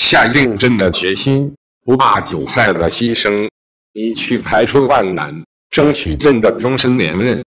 下定真的决心，不怕韭菜的牺牲，一去排除万难，争取朕的终身连任。